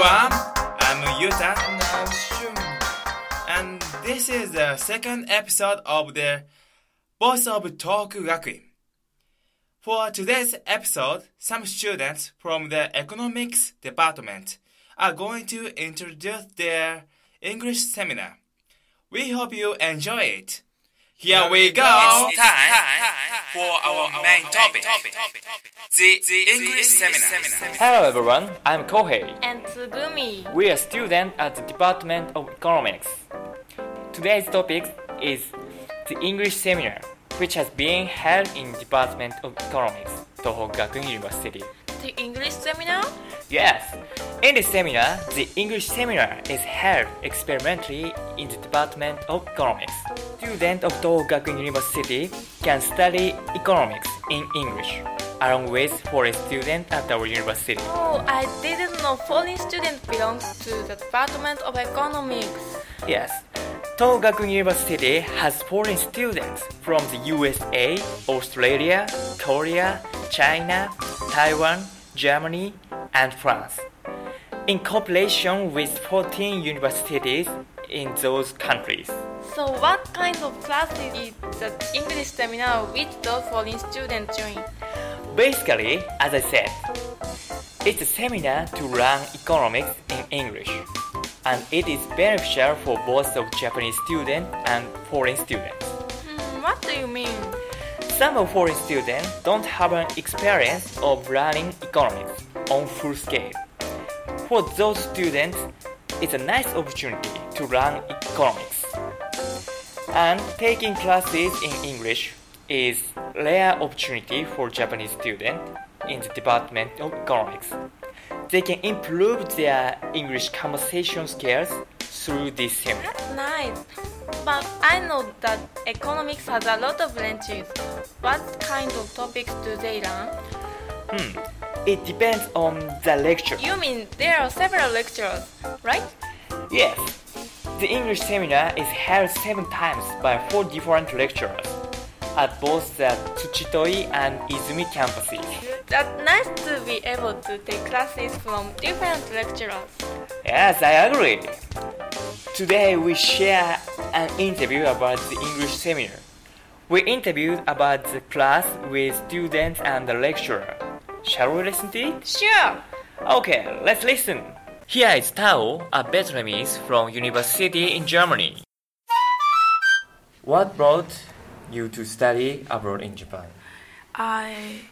everyone, I'm Yuta and I'm Shun. And this is the second episode of the Voice of Tohoku Gakuin. For today's episode, some students from the economics department are going to introduce their English seminar. We hope you enjoy it. Here we go! It's time for our main topic, the English seminar. Hello everyone, I'm Kohei. And Tsugumi. We are students at the Department of Economics. Today's topic is the English seminar, which has been held in Department of Economics, Tohoku Gakuin University. The English seminar? Yes, in this seminar, the English seminar is held experimentally in the Department of Economics. Students of Tohoku Gakuin University can study economics in English, along with foreign students at our university. Oh, I didn't know foreign students belong to the Department of Economics. Yes, Tohoku Gakuin University has foreign students from the USA, Australia, Korea, China, Taiwan, Germany, and France, in cooperation with 14 universities in those countries. So what kind of classes is the English seminar which those foreign students join? Basically, as I said, it's a seminar to learn economics in English, and it is beneficial for both of Japanese students and foreign students. What do you mean? Some of foreign students don't have an experience of learning economics on full scale. For those students, it's a nice opportunity to learn economics. And taking classes in English is a rare opportunity for Japanese students in the Department of Economics. They can improve their English conversation skills through this seminar. That's nice. But I know that economics has a lot of branches. What kind of topics do they learn? It depends on the lecture. You mean there are several lectures, right? Yes. The English seminar is held 7 times by 4 different lecturers at both the Tsuchitoi and Izumi campuses. That's nice to be able to take classes from different lecturers. Yes, I agree. Today we share an interview about the English seminar. We interviewed about the class with students and the lecturer. Shall we listen to it? Sure. Okay, let's listen. Here is Tao, a Vietnamese from university in Germany. What brought you to study abroad in Japan? I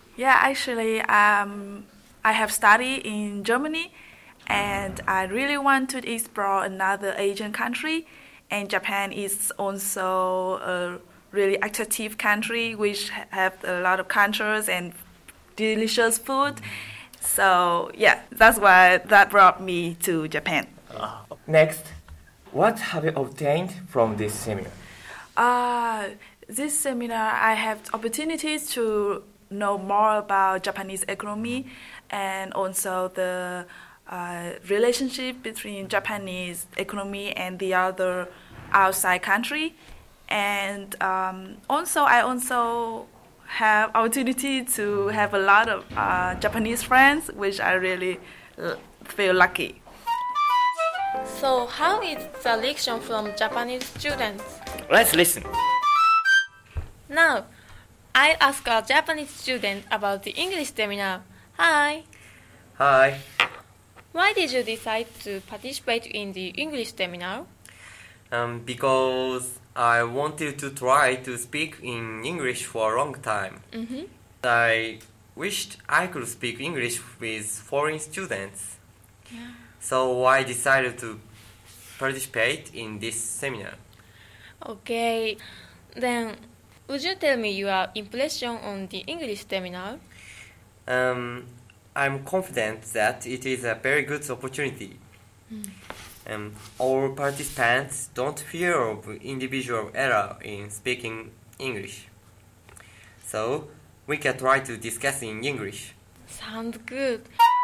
have studied in Germany, and I really want to explore another Asian country. And Japan is also a really attractive country, which have a lot of cultures and delicious food. So yeah, that's why that brought me to Japan. Next, what have you obtained from this seminar? This seminar, I have opportunities to know more about Japanese economy and also the relationship between Japanese economy and the other outside country. And also, I also have opportunity to have a lot of Japanese friends, which I really feel lucky. So how is the reaction from Japanese students? Let's listen. Now, I ask a Japanese student about the English seminar. Hi. Hi. Why did you decide to participate in the English seminar? Because I wanted to try to speak in English for a long time. I wished I could speak English with foreign students. Yeah. So I decided to participate in this seminar. Okay. Then, would you tell me your impression on the English seminar? I'm confident that it is a very good opportunity. All participants don't fear of individual error in speaking English. So we can try to discuss in English. Sounds good.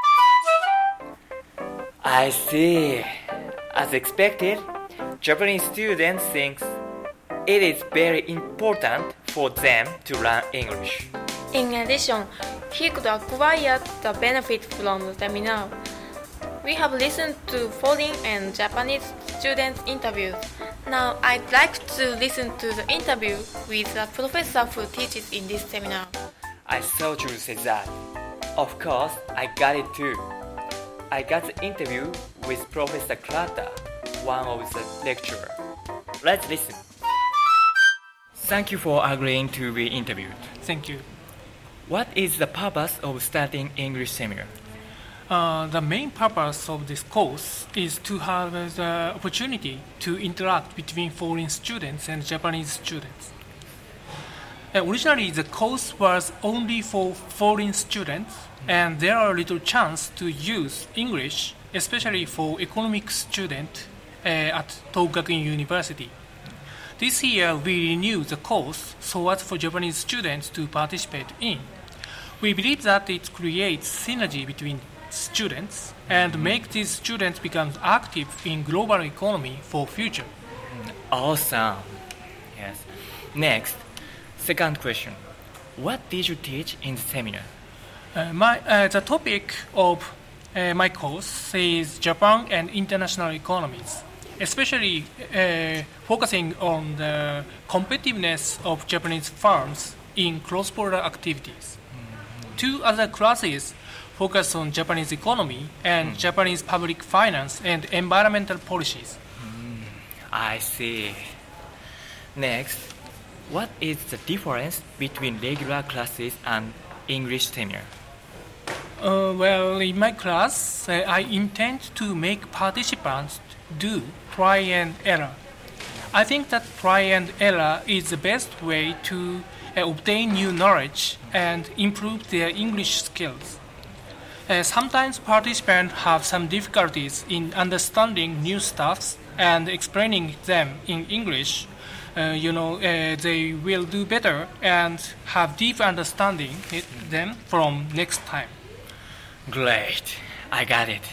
I see. As expected, Japanese students think it is very important for them to learn English. In addition, he could acquire the benefit from the seminar. We have listened to foreign and Japanese students' interviews. Now I'd like to listen to the interview with the professor who teaches in this seminar. I thought you would say that. Of course, I got it too. I got the interview with Professor Kurata, one of the lecturers. Let's listen. Thank you for agreeing to be interviewed. Thank you. What is the purpose of starting English seminar? The main purpose of this course is to have the opportunity to interact between foreign students and Japanese students. Originally, the course was only for foreign students, and there are little chance to use English, especially for economics students at Tohoku University. This year, we renewed the course so as for Japanese students to participate in. We believe that it creates synergy between students and make these students become active in global economy for future. Awesome. Yes. Next, second question. What did you teach in the seminar? The topic of my course is Japan and international economies, especially focusing on the competitiveness of Japanese firms in cross-border activities. Two other classes focus on Japanese economy and Japanese public finance and environmental policies. I see. Next, what is the difference between regular classes and English seminar? Well, in my class, I intend to make participants do try and error. I think that try and error is the best way to obtain new knowledge and improve their English skills. Sometimes participants have some difficulties in understanding new stuffs and explaining them in English. They will do better and have deep understanding them from next time. Great. I got it.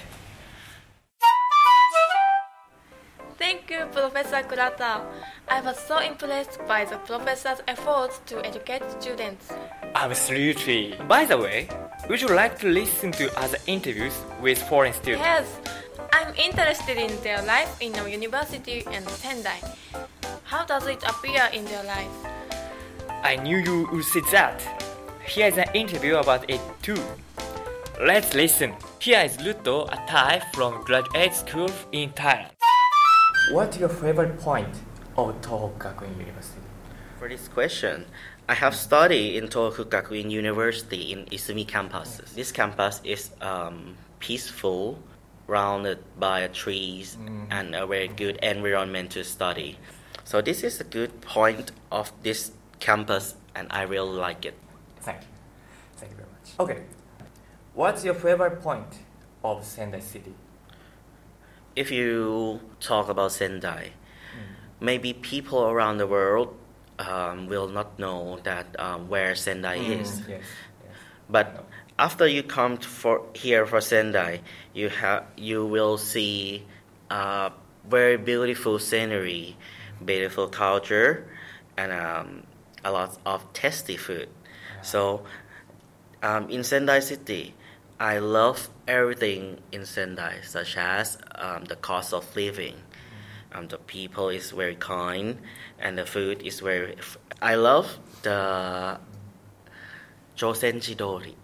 Thank you, Professor Kurata. I was so impressed by the professor's efforts to educate students. Absolutely. By the way, would you like to listen to other interviews with foreign students? Yes, I'm interested in their life in a university and Sendai. How does it appear in their life? I knew you would say that. Here is an interview about it too. Let's listen. Here is Ruto, a Thai from graduate school in Thailand. What's your favorite point of Tohoku Gakuen University? For this question, I have studied in Tohoku Gakuen University in Izumi campus. This campus is peaceful, surrounded by trees and a very good environment to study. So this is a good point of this campus and I really like it. Thank you. Thank you very much. Okay. What's your favorite point of Sendai City? If you talk about Sendai, maybe people around the world will not know that where Sendai is. Yes. But after you come here for Sendai, you will see very beautiful scenery, beautiful culture, and a lot of tasty food. So in Sendai City, I love everything in Sendai, such as the cost of living. The people is very kind, and the food is very. I love the Josenji-dori.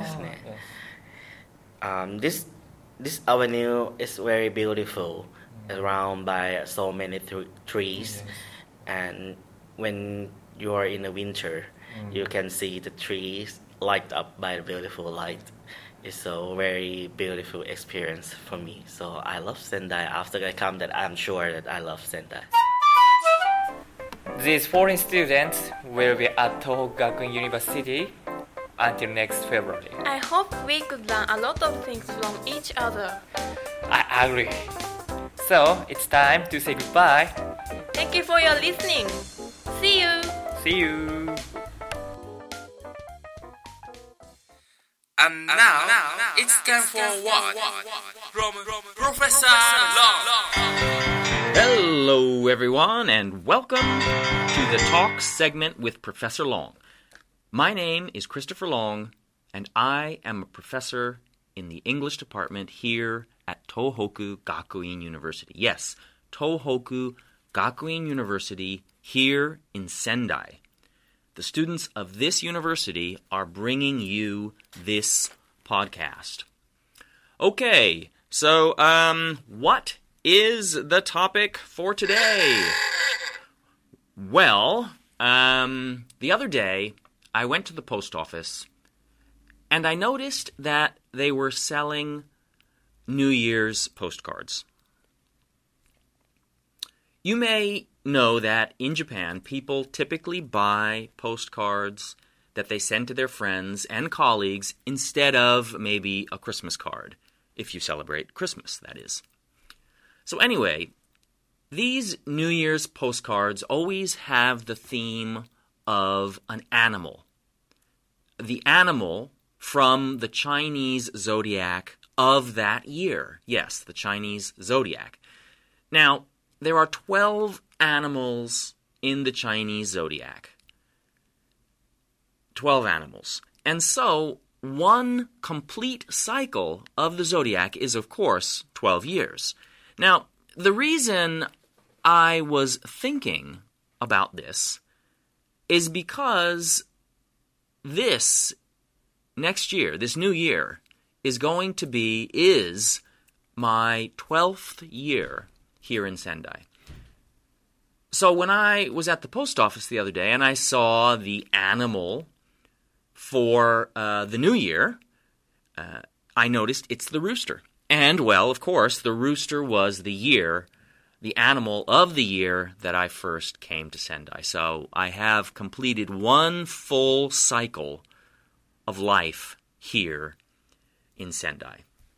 This avenue is very beautiful, surrounded by so many trees, and when you are in the winter, you can see the trees light up by the beautiful light. It's a very beautiful experience for me. So I love Sendai. After I come, that I'm sure that I love Sendai. These foreign students will be at Tohoku Gakuen University until next February. I hope we could learn a lot of things from each other. I agree. So it's time to say goodbye. Thank you for your listening. See you. See you. And now it's time for what? From Professor Long. Hello, everyone, and welcome to the Talk segment with Professor Long. My name is Christopher Long, and I am a professor in the English department here at Tohoku Gakuin University. Yes, Tohoku Gakuin University here in Sendai. The students of this university are bringing you this podcast. Okay, so what is the topic for today? Well, the other day I went to the post office and I noticed that they were selling New Year's postcards. You may know that in Japan, people typically buy postcards that they send to their friends and colleagues instead of maybe a Christmas card, if you celebrate Christmas, that is. So anyway, these New Year's postcards always have the theme of an animal. The animal from the Chinese zodiac of that year. Yes, the Chinese zodiac. Now, there are 12 animals in the Chinese zodiac. 12 animals. And so, one complete cycle of the zodiac is, of course, 12 years. Now, the reason I was thinking about this is because this next year, this new year, is my 12th year here in Sendai. So when I was at the post office the other day and I saw the animal for the new year, I noticed it's the rooster. And, well, of course, the rooster was the animal of the year that I first came to Sendai. So I have completed one full cycle of life here in Sendai.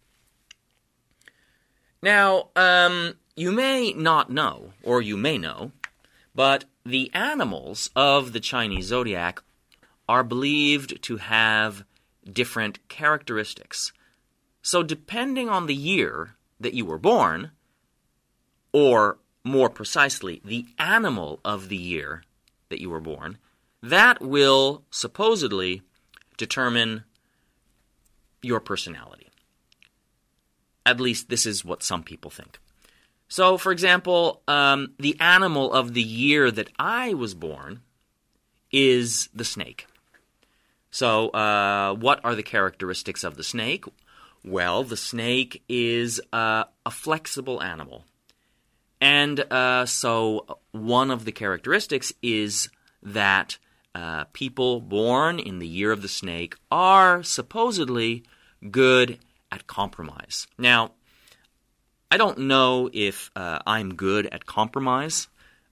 Now, you may not know, or you may know, but the animals of the Chinese zodiac are believed to have different characteristics. So depending on the year that you were born, or more precisely, the animal of the year that you were born, that will supposedly determine your personality. At least this is what some people think. So, for example, the animal of the year that I was born is the snake. So, what are the characteristics of the snake? Well, the snake is a flexible animal. And so one of the characteristics is that people born in the year of the snake are supposedly good at compromise. Now, I don't know if I'm good at compromise,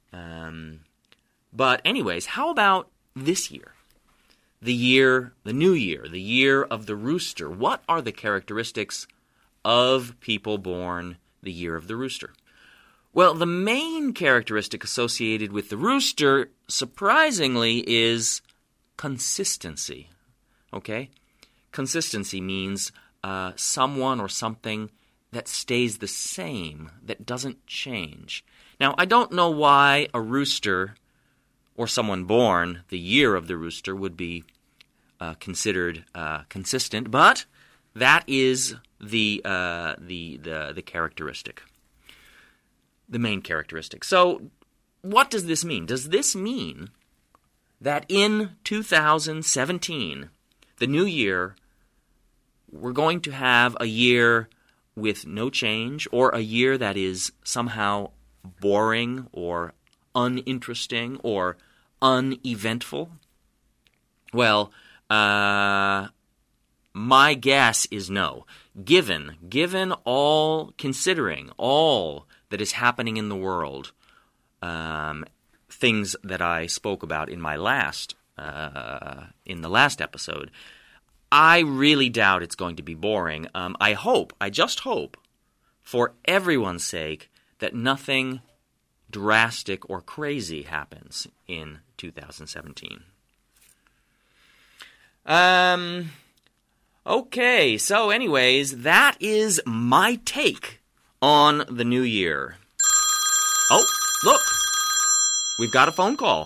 but anyways, how about this year? The new year, the year of the rooster. What are the characteristics of people born the year of the rooster? Well, the main characteristic associated with the rooster, surprisingly, is consistency. Okay? Consistency means someone or something that stays the same, that doesn't change. Now, I don't know why a rooster or someone born the year of the rooster would be considered consistent, but that is the characteristic, the main characteristic. So, what does this mean? Does this mean that in 2017, the new year, we're going to have a year with no change, or a year that is somehow boring or uninteresting or uneventful? Well, my guess is no. Considering all that is happening in the world, things that I spoke about in my in the last episode, I really doubt it's going to be boring. I just hope, for everyone's sake, that nothing drastic or crazy happens in 2017. Okay, so anyways, that is my take on the new year. Oh, look! We've got a phone call.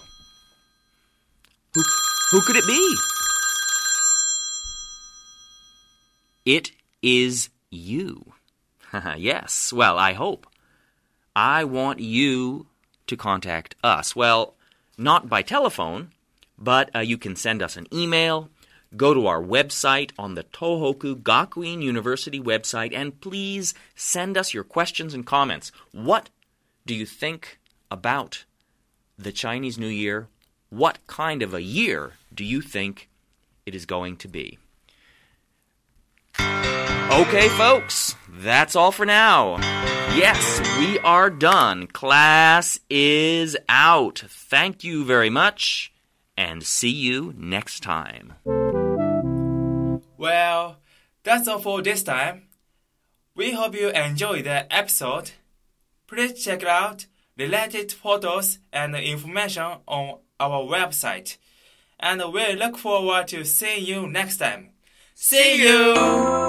Who could it be? It is you. Yes, well, I hope. I want you to contact us. Well, not by telephone, but you can send us an email, go to our website on the Tohoku Gakuin University website, and please send us your questions and comments. What do you think about the Chinese New Year? What kind of a year do you think it is going to be? Okay, folks, that's all for now. Yes, we are done. Class is out. Thank you very much, and see you next time. Well, that's all for this time. We hope you enjoyed the episode. Please check out related photos and information on our website. And we look forward to seeing you next time. See you!